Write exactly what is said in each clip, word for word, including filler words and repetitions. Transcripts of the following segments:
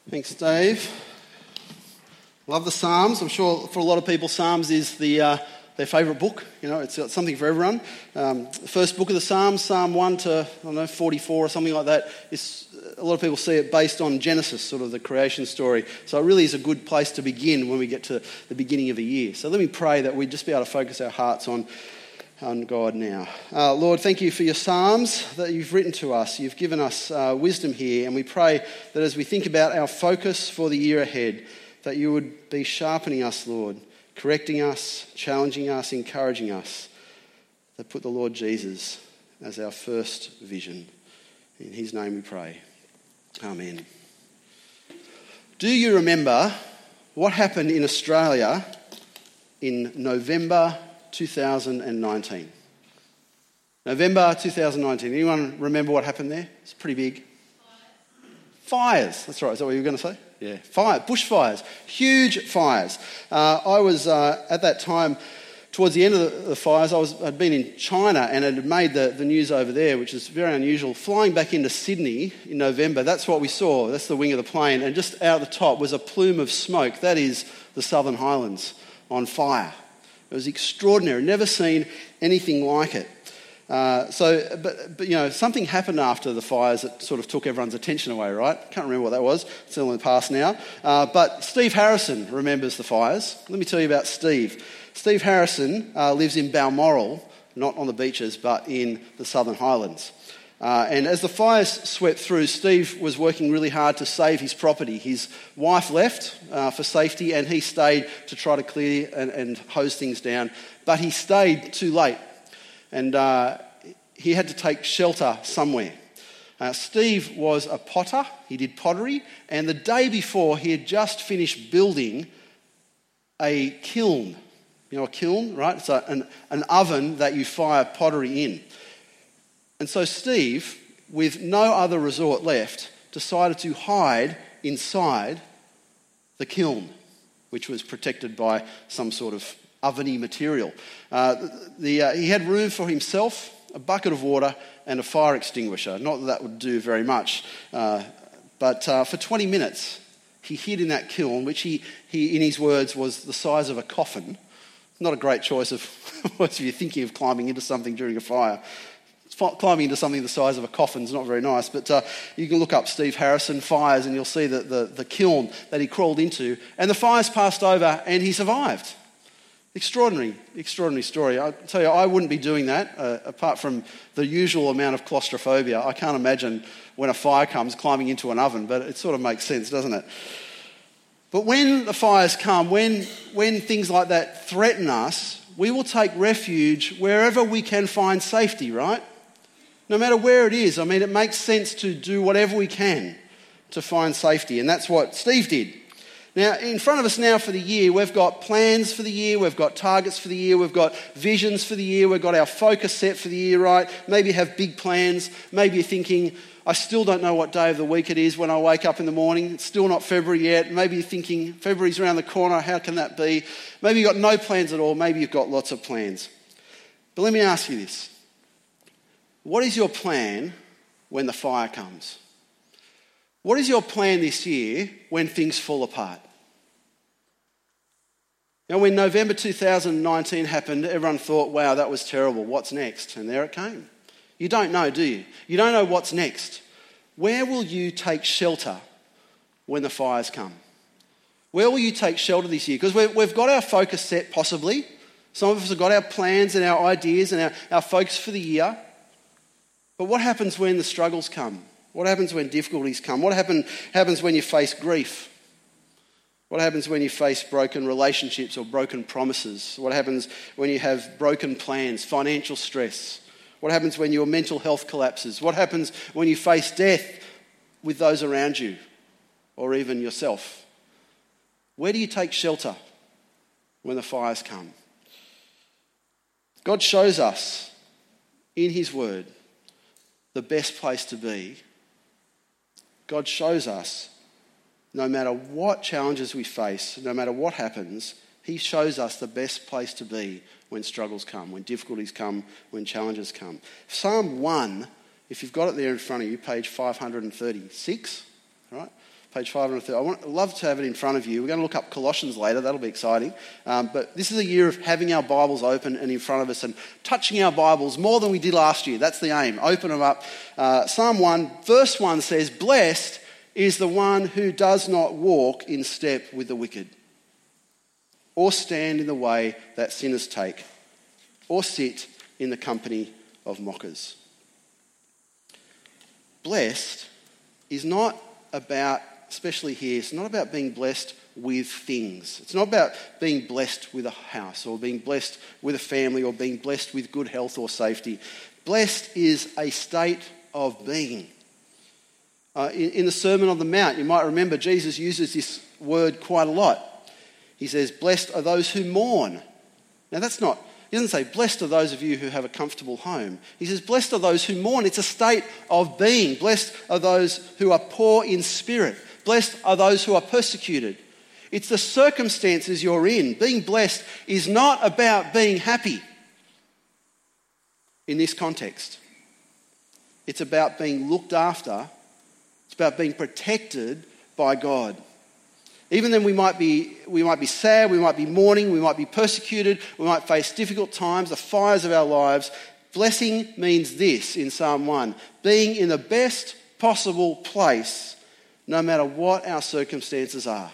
Thanks, Dave. Love the Psalms. I'm sure for a lot of people, Psalms is the uh, their favourite book. You know, it's got something for everyone. Um, the first book of the Psalms, Psalm one to I don't know forty-four or something like that, is a lot of people see it based on Genesis, sort of the creation story. So it really is a good place to begin when we get to the beginning of a year. So let me pray that we just be able to focus our hearts on. on God now. Uh, Lord, thank you for your Psalms that you've written to us. You've given us uh, wisdom here, and we pray that as we think about our focus for the year ahead, that you would be sharpening us, Lord, correcting us, challenging us, encouraging us, that put the Lord Jesus as our first vision. In his name we pray. Amen. Do you remember what happened in Australia in November two thousand nineteen? November two thousand nineteen. Anyone remember what happened there? It's pretty big. Fires. That's right. Is that what you were going to say? Yeah. Fire. Bushfires. Huge fires. Uh, I was uh, at that time, towards the end of the, the fires, I was, I'd been in China and it had made the, the news over there, which is very unusual. Flying back into Sydney in November, that's what we saw. That's the wing of the plane. And just out the top was a plume of smoke. That is the Southern Highlands on fire. It was extraordinary. Never seen anything like it. Uh, so, but, but, you know, something happened after the fires that sort of took everyone's attention away, right? Can't remember what that was. It's all in the past now. Uh, but Steve Harrison remembers the fires. Let me tell you about Steve. Steve Harrison uh, lives in Balmoral, not on the beaches, but in the Southern Highlands. Uh, and as the fires swept through, Steve was working really hard to save his property. His wife left uh, for safety and he stayed to try to clear and, and hose things down. But he stayed too late and uh, he had to take shelter somewhere. Uh, Steve was a potter. He did pottery. And the day before, he had just finished building a kiln. You know a kiln, right? It's a, an, an oven that you fire pottery in. And so Steve, with no other resort left, decided to hide inside the kiln, which was protected by some sort of oveny material. Uh, the, the, uh, he had room for himself, a bucket of water and a fire extinguisher. Not that that would do very much, uh, but uh, for twenty minutes he hid in that kiln, which he, he, in his words, was the size of a coffin. Not a great choice of if you're thinking of climbing into something during a fire. Climbing into something the size of a coffin is not very nice, but uh, you can look up Steve Harrison fires and you'll see the, the, the kiln that he crawled into, and the fires passed over and he survived. Extraordinary, extraordinary story. I tell you, I wouldn't be doing that, uh, apart from the usual amount of claustrophobia. I can't imagine when a fire comes climbing into an oven, but it sort of makes sense, doesn't it? But when the fires come, when, when things like that threaten us, we will take refuge wherever we can find safety, right? No matter where it is. I mean, it makes sense to do whatever we can to find safety, and that's what Steve did. Now, in front of us now for the year, we've got plans for the year, we've got targets for the year, we've got visions for the year, we've got our focus set for the year, right? Maybe you have big plans. Maybe you're thinking, I still don't know what day of the week it is when I wake up in the morning. It's still not February yet. Maybe you're thinking, February's around the corner, how can that be? Maybe you've got no plans at all, maybe you've got lots of plans. But let me ask you this. What is your plan when the fire comes? What is your plan this year when things fall apart? Now, when November two thousand nineteen happened, everyone thought, wow, that was terrible. What's next? And there it came. You don't know, do you? You don't know what's next. Where will you take shelter when the fires come? Where will you take shelter this year? Because we've got our focus set, possibly. Some of us have got our plans and our ideas and our, our focus for the year. But what happens when the struggles come? What happens when difficulties come? What happen, happens when you face grief? What happens when you face broken relationships or broken promises? What happens when you have broken plans, financial stress? What happens when your mental health collapses? What happens when you face death with those around you or even yourself? Where do you take shelter when the fires come? God shows us in his word the best place to be. God shows us no matter what challenges we face, no matter what happens, he shows us the best place to be when struggles come, when difficulties come, when challenges come. Psalm one, if you've got it there in front of you, page five hundred thirty-six, right? Page five thirty. I want, I'd love to have it in front of you. We're going to look up Colossians later. That'll be exciting. Um, but this is a year of having our Bibles open and in front of us and touching our Bibles more than we did last year. That's the aim. Open them up. Uh, Psalm one, verse one says, "Blessed is the one who does not walk in step with the wicked, or stand in the way that sinners take, or sit in the company of mockers." Blessed is not about, especially here, it's not about being blessed with things. It's not about being blessed with a house or being blessed with a family or being blessed with good health or safety. Blessed is a state of being. Uh, in, in the Sermon on the Mount, you might remember Jesus uses this word quite a lot. He says, "Blessed are those who mourn." Now that's not, he doesn't say, "Blessed are those of you who have a comfortable home." He says, "Blessed are those who mourn." It's a state of being. Blessed are those who are poor in spirit. Blessed are those who are persecuted. It's the circumstances you're in. Being blessed is not about being happy in this context. It's about being looked after. It's about being protected by God. Even then we might be we might be sad, we might be mourning, we might be persecuted, we might face difficult times, the fires of our lives. Blessing means this in Psalm one, being in the best possible place no matter what our circumstances are.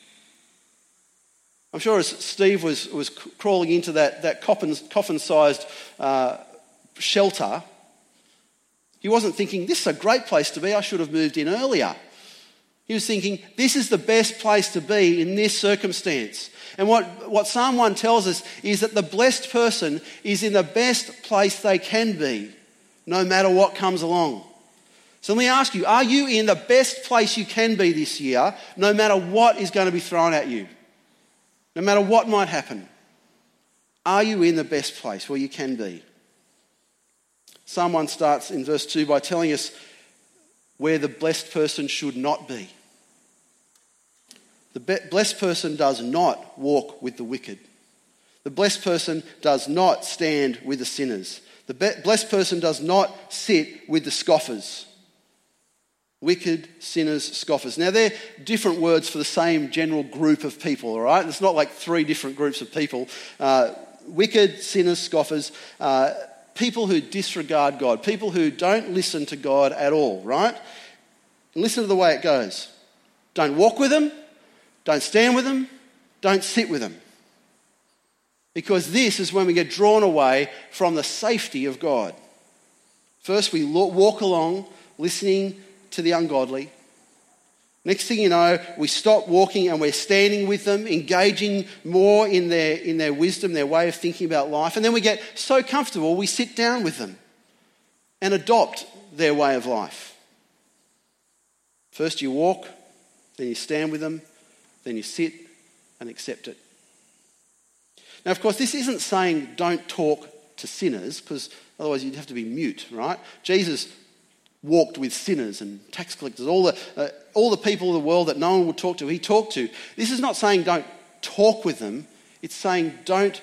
I'm sure as Steve was, was crawling into that, that coffin, coffin-sized uh, shelter, he wasn't thinking, "This is a great place to be, I should have moved in earlier." He was thinking, this is the best place to be in this circumstance. And what, what Psalm one tells us is that the blessed person is in the best place they can be, no matter what comes along. So let me ask you, are you in the best place you can be this year, no matter what is going to be thrown at you? No matter what might happen? Are you in the best place where you can be? Psalm one starts in verse two by telling us where the blessed person should not be. The be- blessed person does not walk with the wicked. The blessed person does not stand with the sinners. The be- blessed person does not sit with the scoffers. Wicked, sinners, scoffers. Now they're different words for the same general group of people, all right? It's not like three different groups of people. Uh, wicked, sinners, scoffers, uh, people who disregard God, people who don't listen to God at all, right? And listen to the way it goes. Don't walk with them, don't stand with them, don't sit with them. Because this is when we get drawn away from the safety of God. First we walk along listening to the ungodly. Next thing you know, we stop walking and we're standing with them, engaging more in their, in their wisdom, their way of thinking about life. And then we get so comfortable, we sit down with them and adopt their way of life. First you walk, then you stand with them, then you sit and accept it. Now, of course, this isn't saying don't talk to sinners, because otherwise you'd have to be mute, right? Jesus walked with sinners and tax collectors, all the uh, all the people of the world that no one would talk to, he talked to. This is not saying don't talk with them. It's saying don't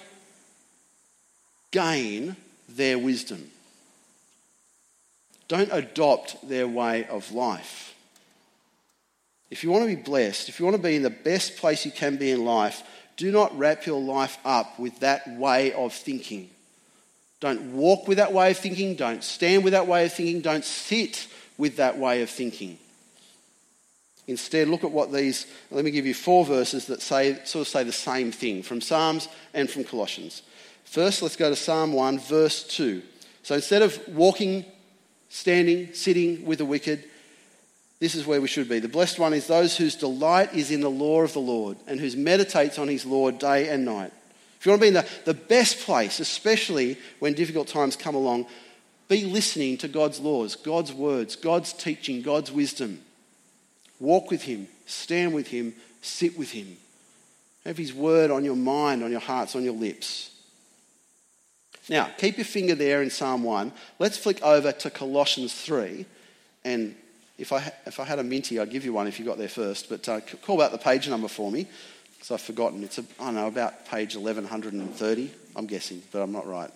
gain their wisdom. Don't adopt their way of life. If you want to be blessed, if you want to be in the best place you can be in life, do not wrap your life up with that way of thinking. Don't walk with that way of thinking. Don't stand with that way of thinking. Don't sit with that way of thinking. Instead, look at what these, let me give you four verses that say sort of say the same thing from Psalms and from Colossians. First, let's go to Psalm one, verse two. So instead of walking, standing, sitting with the wicked, this is where we should be. The blessed one is those whose delight is in the law of the Lord and whose meditates on his law day and night. If you want to be in the, the best place, especially when difficult times come along, be listening to God's laws, God's words, God's teaching, God's wisdom. Walk with him, stand with him, sit with him. Have his word on your mind, on your hearts, on your lips. Now, keep your finger there in Psalm one. Let's flick over to Colossians three. And if I if I had a minty, I'd give you one if you got there first. But uh, call out the page number for me, because I've forgotten. It's, a, I don't know, about page eleven thirty, I'm guessing, but I'm not right.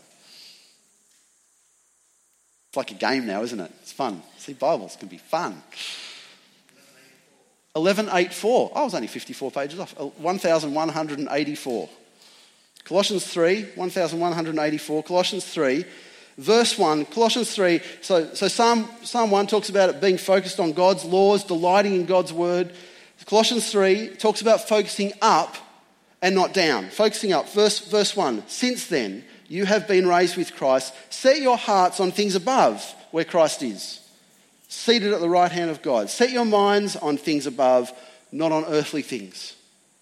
It's like a game now, isn't it? It's fun. See, Bibles can be fun. eleven eighty-four. I was only fifty-four pages off. one thousand one hundred eighty-four. Colossians three, one thousand one hundred eighty-four. Colossians three, verse one. Colossians three. So, so Psalm, Psalm one talks about it being focused on God's laws, delighting in God's word. Colossians three talks about focusing up and not down. Focusing up. Verse, verse one. Since then, you have been raised with Christ. Set your hearts on things above, where Christ is, seated at the right hand of God. Set your minds on things above, not on earthly things.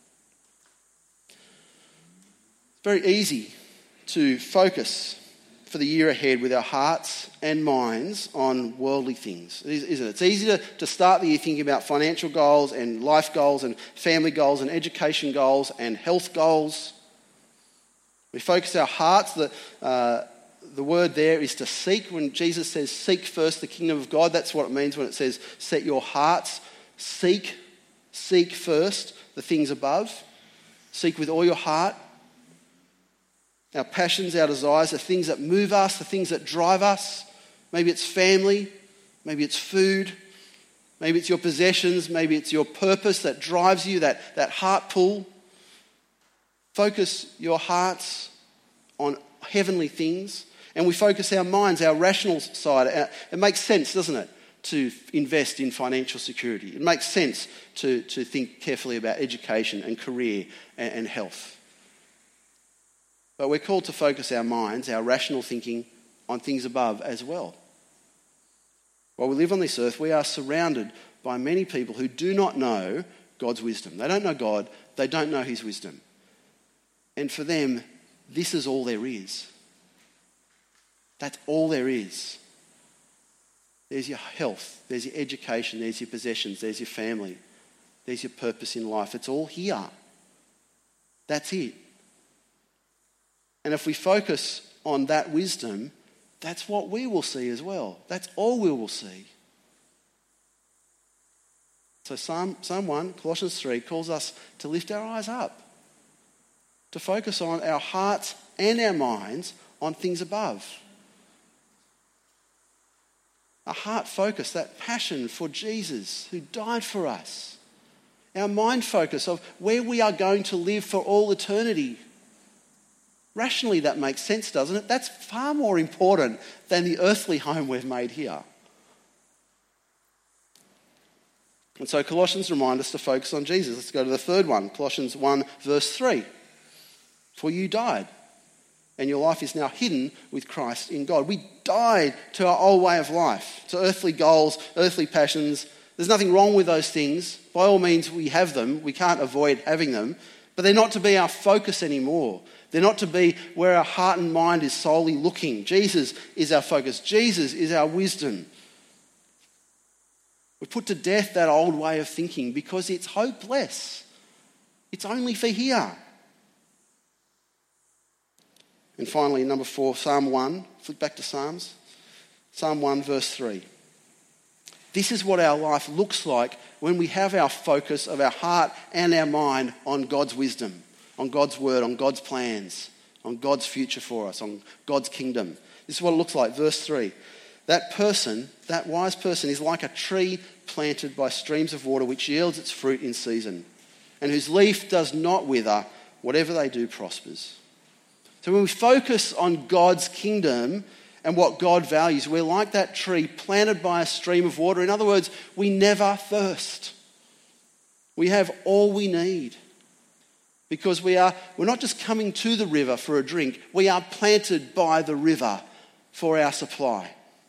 It's very easy to focus for the year ahead with our hearts and minds on worldly things, isn't it? It's easy to, to start the year thinking about financial goals and life goals and family goals and education goals and health goals. We focus our hearts. The, uh, the word there is to seek. When Jesus says seek first the kingdom of God, that's what it means when it says set your hearts. Seek, seek first the things above. Seek with all your heart. Our passions, our desires, the things that move us, the things that drive us. Maybe it's family, maybe it's food, maybe it's your possessions, maybe it's your purpose that drives you, that, that heart pull. Focus your hearts on heavenly things, and we focus our minds, our rational side. It makes sense, doesn't it, to invest in financial security. It makes sense to, to think carefully about education and career and, and health. But we're called to focus our minds, our rational thinking, on things above as well. While we live on this earth, we are surrounded by many people who do not know God's wisdom. They don't know God, they don't know his wisdom. And for them, this is all there is. That's all there is. There's your health, there's your education, there's your possessions, there's your family, there's your purpose in life. It's all here. That's it. And if we focus on that wisdom, that's what we will see as well. That's all we will see. So Psalm, Psalm one, Colossians three, calls us to lift our eyes up, to focus on our hearts and our minds on things above. A heart focus, that passion for Jesus who died for us. Our mind focus of where we are going to live for all eternity. Rationally, that makes sense, doesn't it? That's far more important than the earthly home we've made here. And so Colossians remind us to focus on Jesus. Let's go to the third one, Colossians one, verse three. For you died, and your life is now hidden with Christ in God. We died to our old way of life, to earthly goals, earthly passions. There's nothing wrong with those things. By all means, we have them. We can't avoid having them. But they're not to be our focus anymore. They're not to be where our heart and mind is solely looking. Jesus is our focus. Jesus is our wisdom. We put to death that old way of thinking because it's hopeless. It's only for here. And finally, number four, Psalm one. Flip back to Psalms. Psalm one, verse three. This is what our life looks like when we have our focus of our heart and our mind on God's wisdom, on God's word, on God's plans, on God's future for us, on God's kingdom. This is what it looks like. Verse three. That person, that wise person, is like a tree planted by streams of water which yields its fruit in season, and whose leaf does not wither. Whatever they do prospers. So when we focus on God's kingdom and what God values, we're like that tree planted by a stream of water. In other words, we never thirst. We have all we need. Because we are, we're not just coming to the river for a drink, we are planted by the river for our supply.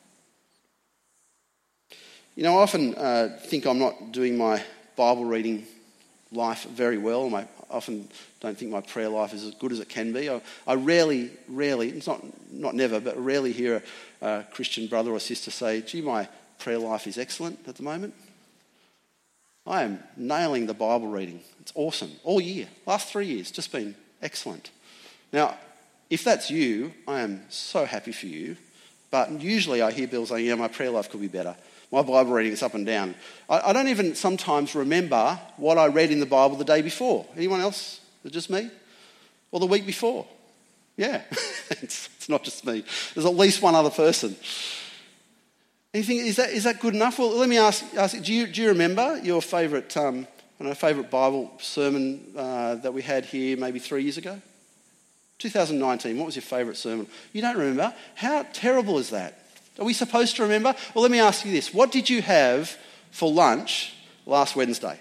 You know, I often uh, think I'm not doing my Bible reading life very well. My, I often don't think my prayer life is as good as it can be. I, I rarely, rarely, it's not not never, but rarely hear a, a Christian brother or sister say, gee, my prayer life is excellent at the moment. I am nailing the Bible reading. It's awesome. All year. Last three years, just been excellent. Now, if that's you, I am so happy for you. But usually I hear people saying, yeah, my prayer life could be better. My Bible reading is up and down. I, I don't even sometimes remember what I read in the Bible the day before. Anyone else? Is it just me? Or the week before? Yeah, it's, it's not just me. There's at least one other person. And you think, is that, is that good enough? Well, let me ask, ask do, you, do you remember your favourite um, I don't know, favourite Bible sermon uh, that we had here maybe three years ago? twenty nineteen, what was your favourite sermon? You don't remember? How terrible is that? Are we supposed to remember? Well, let me ask you this. What did you have for lunch last Wednesday?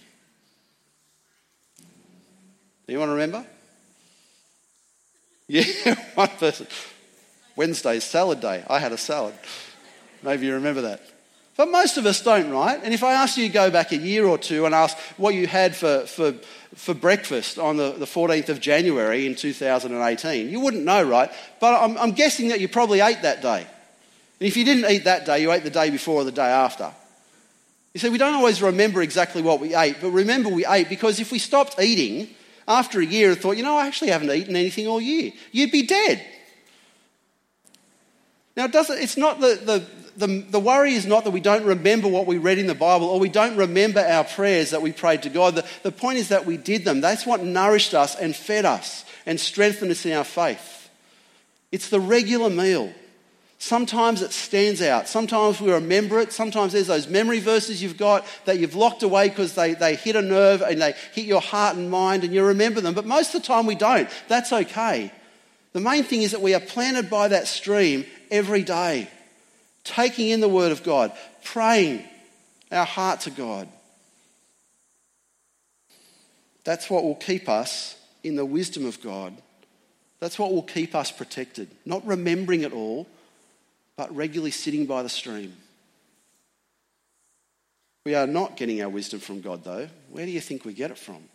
Anyone remember? Yeah, one person. Wednesday's salad day. I had a salad. Maybe you remember that. But most of us don't, right? And if I asked you to go back a year or two and ask what you had for, for, for breakfast on the, the fourteenth of January in two thousand eighteen, you wouldn't know, right? But I'm, I'm guessing that you probably ate that day. And if you didn't eat that day, you ate the day before or the day after. You see, we don't always remember exactly what we ate, but remember we ate because if we stopped eating after a year and thought, you know, I actually haven't eaten anything all year, you'd be dead. Now, it doesn't, it's not the, the, the, the worry is not that we don't remember what we read in the Bible or we don't remember our prayers that we prayed to God. The, the point is that we did them. That's what nourished us and fed us and strengthened us in our faith. It's the regular meal. Sometimes it stands out. Sometimes we remember it. Sometimes there's those memory verses you've got that you've locked away because they, they hit a nerve and they hit your heart and mind and you remember them. But most of the time we don't. That's okay. The main thing is that we are planted by that stream every day, taking in the Word of God, praying our heart to God. That's what will keep us in the wisdom of God. That's what will keep us protected. Not remembering it all, but regularly sitting by the stream. We are not getting our wisdom from God, though. Where do you think we get it from?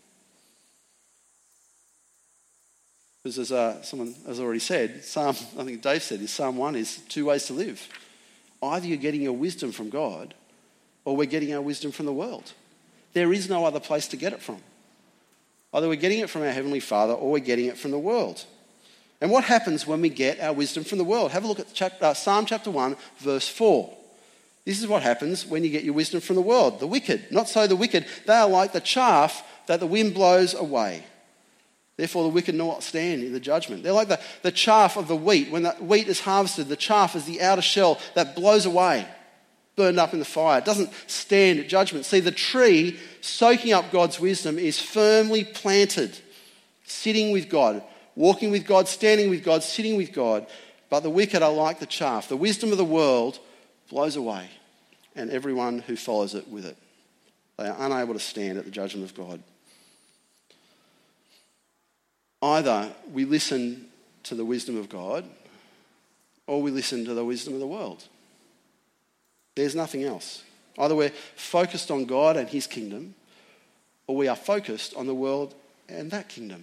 Because as uh, someone has already said, Psalm, I think Dave said this, Psalm one is two ways to live. Either you're getting your wisdom from God or we're getting our wisdom from the world. There is no other place to get it from. Either we're getting it from our Heavenly Father or we're getting it from the world. And what happens when we get our wisdom from the world? Have a look at chapter, uh, Psalm chapter one, verse four. This is what happens when you get your wisdom from the world. The wicked, not so the wicked, they are like the chaff that the wind blows away. Therefore, the wicked will not stand in the judgment. They're like the, the chaff of the wheat. When the wheat is harvested, the chaff is the outer shell that blows away, burned up in the fire. It doesn't stand at judgment. See, the tree soaking up God's wisdom is firmly planted, sitting with God, walking with God, standing with God, sitting with God. But the wicked are like the chaff. The wisdom of the world blows away, and everyone who follows it with it. They are unable to stand at the judgment of God. Either we listen to the wisdom of God or we listen to the wisdom of the world. There's nothing else. Either we're focused on God and his kingdom or we are focused on the world and that kingdom.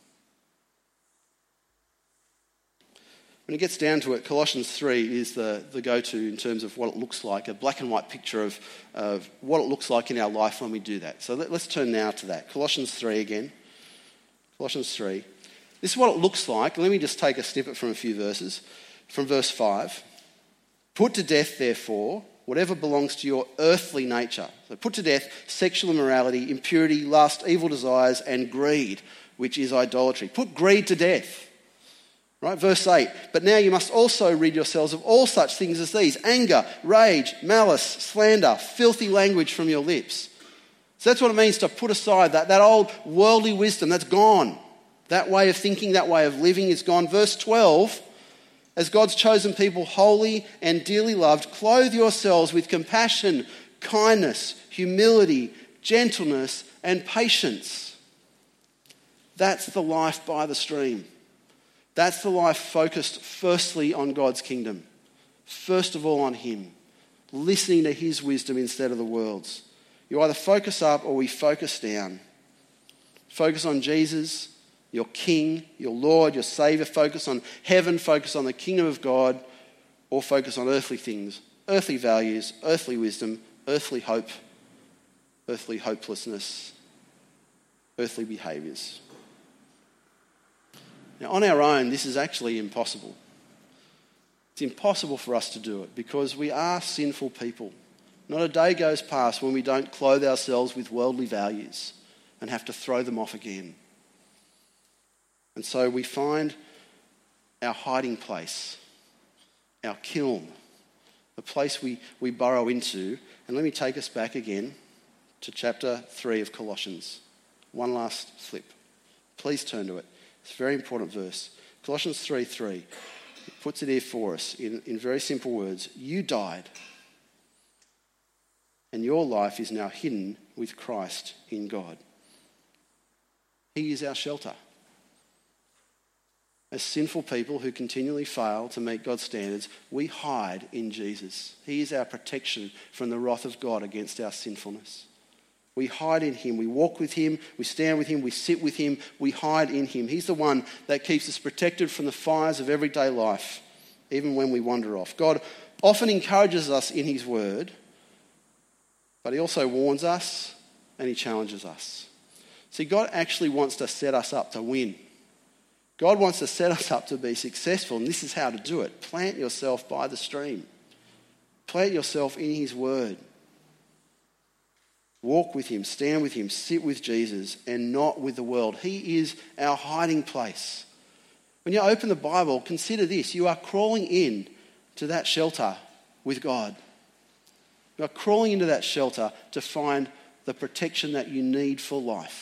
When it gets down to it, Colossians three is the, the go-to in terms of what it looks like, a black and white picture of, of what it looks like in our life when we do that. So let, let's turn now to that. Colossians three again. Colossians three. This is what it looks like. Let me just take a snippet from a few verses. From verse five. Put to death, therefore, whatever belongs to your earthly nature. So put to death sexual immorality, impurity, lust, evil desires, and greed, which is idolatry. Put greed to death. Right, verse eight. But now you must also rid yourselves of all such things as these: anger, rage, malice, slander, filthy language from your lips. So that's what it means to put aside that, that old worldly wisdom. That's gone. That way of thinking, that way of living is gone. Verse twelve, as God's chosen people, holy and dearly loved, clothe yourselves with compassion, kindness, humility, gentleness, and patience. That's the life by the stream. That's the life focused firstly on God's kingdom. First of all on him. Listening to his wisdom instead of the world's. You either focus up or we focus down. Focus on Jesus, your King, your Lord, your Saviour. Focus on heaven, focus on the kingdom of God, or focus on earthly things, earthly values, earthly wisdom, earthly hope, earthly hopelessness, earthly behaviours. Now, on our own, this is actually impossible. It's impossible for us to do it because we are sinful people. Not a day goes past when we don't clothe ourselves with worldly values and have to throw them off again. And so we find our hiding place, our kiln, a place we, we burrow into. And let me take us back again to chapter three of Colossians. One last flip. Please turn to it. It's a very important verse. Colossians three three. It puts it here for us in, in very simple words. You died, and your life is now hidden with Christ in God. He is our shelter. As sinful people who continually fail to meet God's standards, we hide in Jesus. He is our protection from the wrath of God against our sinfulness. We hide in him. We walk with him. We stand with him. We sit with him. We hide in him. He's the one that keeps us protected from the fires of everyday life, even when we wander off. God often encourages us in his word, but he also warns us and he challenges us. See, God actually wants to set us up to win. God wants to set us up to be successful, and this is how to do it. Plant yourself by the stream. Plant yourself in his word. Walk with him, stand with him, sit with Jesus, and not with the world. He is our hiding place. When you open the Bible, consider this. You are crawling in to that shelter with God. You are crawling into that shelter to find the protection that you need for life.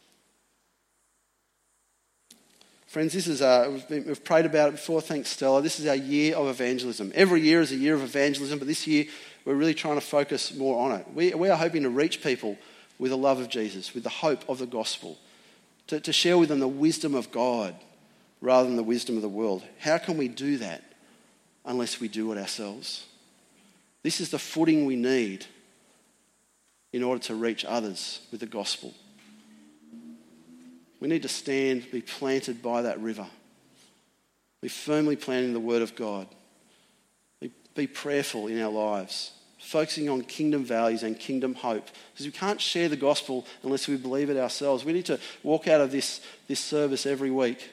Friends, this is uh, we've, been, we've prayed about it before. Thanks, Stella. This is our year of evangelism. Every year is a year of evangelism, but this year we're really trying to focus more on it. We, we are hoping to reach people with the love of Jesus, with the hope of the gospel, to, to share with them the wisdom of God rather than the wisdom of the world. How can we do that unless we do it ourselves? This is the footing we need in order to reach others with the gospel. We need to stand, be planted by that river. Be firmly planted in the word of God. Be, be prayerful in our lives, focusing on kingdom values and kingdom hope. Because we can't share the gospel unless we believe it ourselves. We need to walk out of this, this service every week,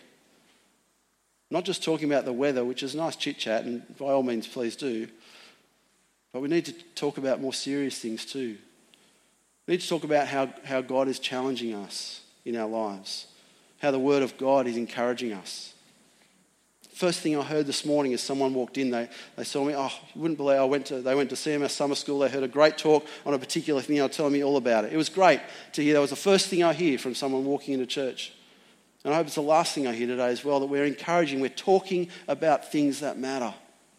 not just talking about the weather, which is nice chit-chat, and by all means please do, but we need to talk about more serious things too. We need to talk about how, how God is challenging us in our lives, how the word of God is encouraging us. First thing I heard this morning as someone walked in, they, they saw me, oh, you wouldn't believe, I went to, they went to C M S summer school, they heard a great talk on a particular thing, they were telling me all about it. It was great to hear. That was the first thing I hear from someone walking into church. And I hope it's the last thing I hear today as well, that we're encouraging, we're talking about things that matter.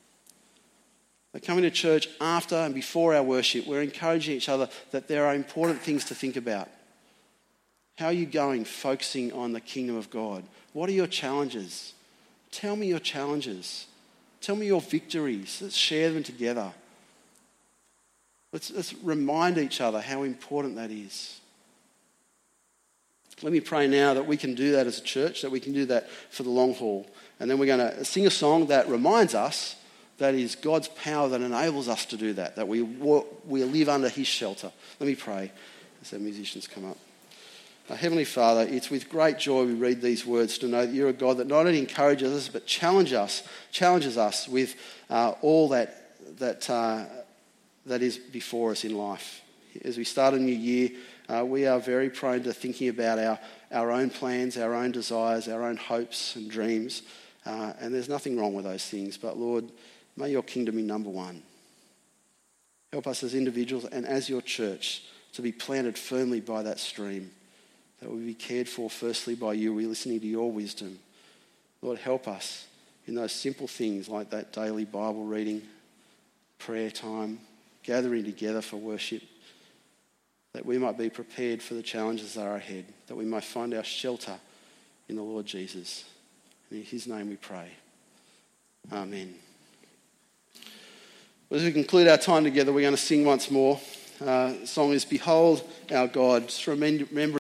That coming to church after and before our worship, we're encouraging each other that there are important things to think about. How are you going focusing on the kingdom of God? What are your challenges? Tell me your challenges. Tell me your victories. Let's share them together. Let's, let's remind each other how important that is. Let me pray now that we can do that as a church, that we can do that for the long haul. And then we're going to sing a song that reminds us that is God's power that enables us to do that, that we, we live under his shelter. Let me pray as our musicians come up. Uh, Heavenly Father, it's with great joy we read these words to know that you're a God that not only encourages us but challenge us, challenges us with uh, all that that uh, that is before us in life. As we start a new year, uh, we are very prone to thinking about our, our own plans, our own desires, our own hopes and dreams, uh, and there's nothing wrong with those things. But Lord, may your kingdom be number one. Help us as individuals and as your church to be planted firmly by that stream, that we be cared for firstly by you. We're listening to your wisdom. Lord, help us in those simple things like that daily Bible reading, prayer time, gathering together for worship, that we might be prepared for the challenges that are ahead, that we might find our shelter in the Lord Jesus. And in his name we pray. Amen. Well, as we conclude our time together, we're going to sing once more. Uh, the song is Behold Our God. Just remember